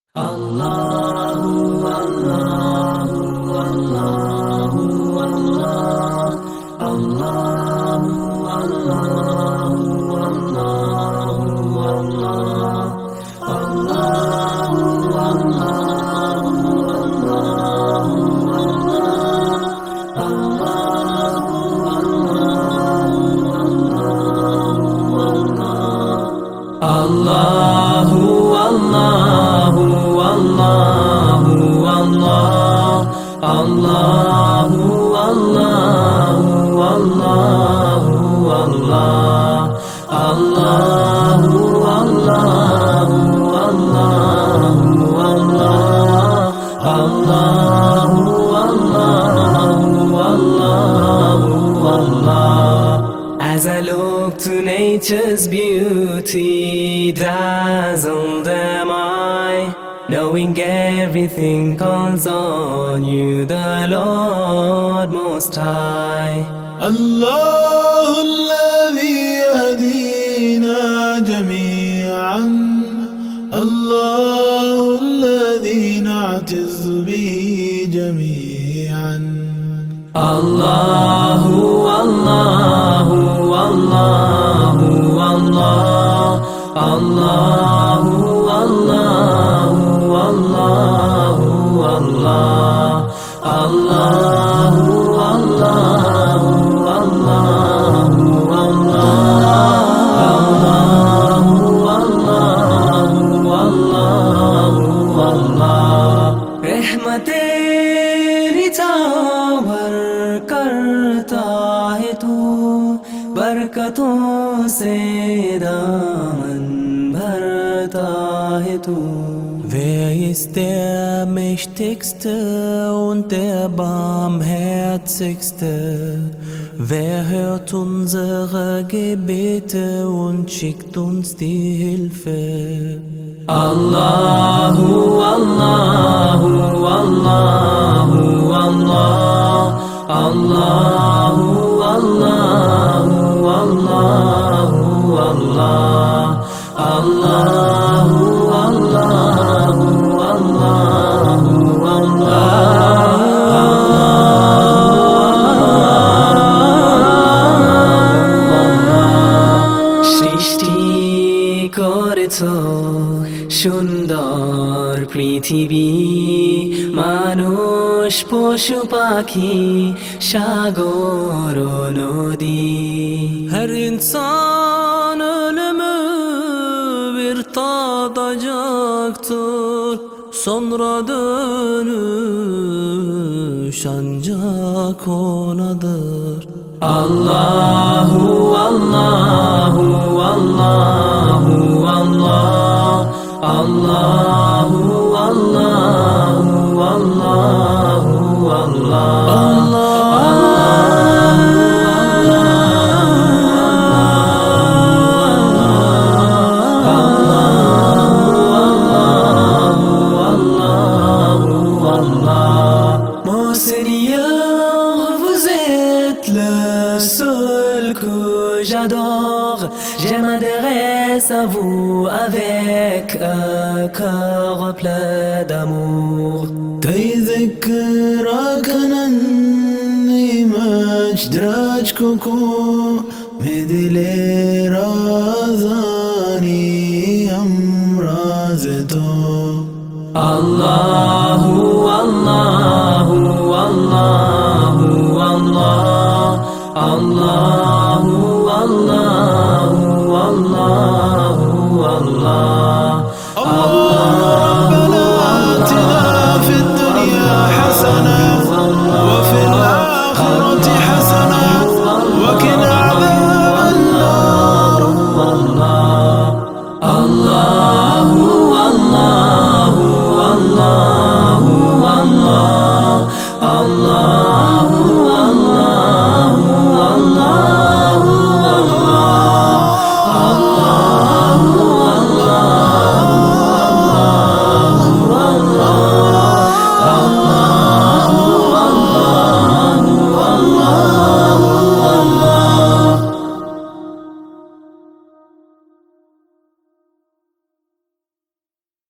الله الله الله الله الله الله As I look to nature's beauty, dazzled am I, knowing everything calls on you, the Lord Most High. الله الذي يهدينا جميعا، الله الذي نعتز به جميعا. الله الله الله الله الله الله الله الله रहमतेरी चावर करता है तू, बरकतों से दामन भरता है तू. Wer ist der Mächtigste und der Barmherzigste? Wer hört unsere Gebete und schickt uns die Hilfe? Allahu, Allahu, Allahu, Allah, Allahu, Allahu, Allahu, Allah, Allahu, Allahu, Allahu, Allah. সৃষ্টি করেছো সুন্দর পৃথিবী, মানুষ পশু পাখি সাগর নদী. Her insan ölümü bir tadacaktır, sonra dönüş ancak onadır. Allahu Allahu Allahu Allah, Allahu Allahu Allahu Allah. Mon Seigneur, vous êtes le seul que j'adore. Je m'adresse à vous avec un cœur plein d'amour. تذكرك أنني مجدرج كوكو مدلي رازاني أمرازتو. Allahu Allahu Allahu Allah, Allah.